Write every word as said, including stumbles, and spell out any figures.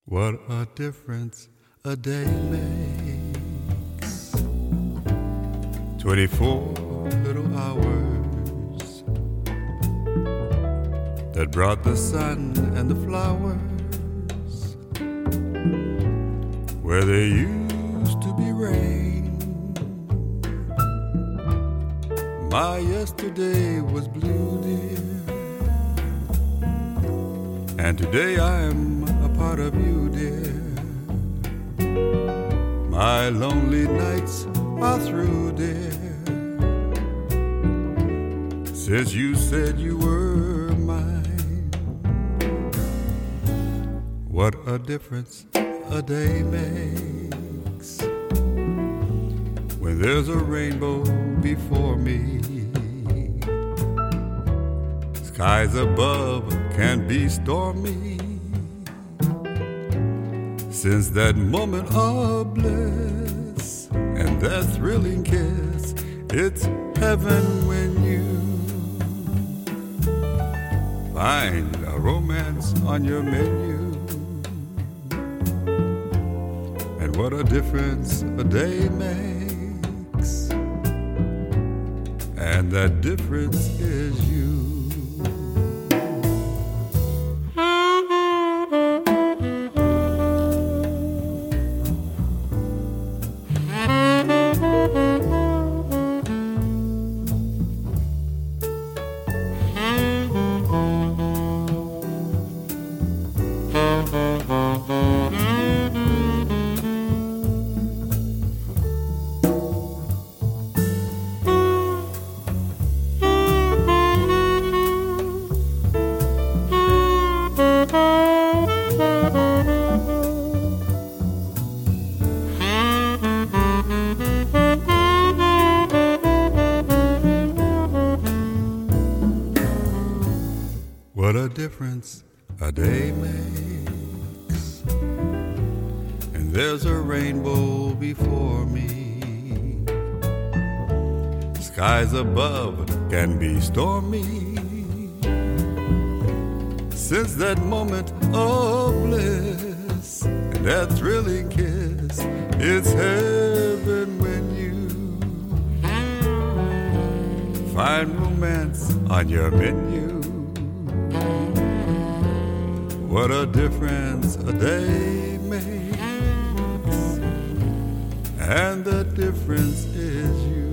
What a difference a day makes. Twenty-four little hours that brought the sun and the flowers where there used to be rain. My yesterday was blue, dear, and today I'm a part of you, dear. My lonely nights are through, dear, since you said you were mine. What a difference a day makes when there's a rainbow before me. Skies above can be stormy, since that moment of bliss and that thrilling kiss, it's heaven when you find a romance on your menu. And what a difference a day makes, and that difference is you. What a difference a day makes, and there's a rainbow before me. Skies above can be stormy, since that moment of bliss and that thrilling kiss, it's heaven when you find romance on your menu. What a difference a day makes, and the difference is you.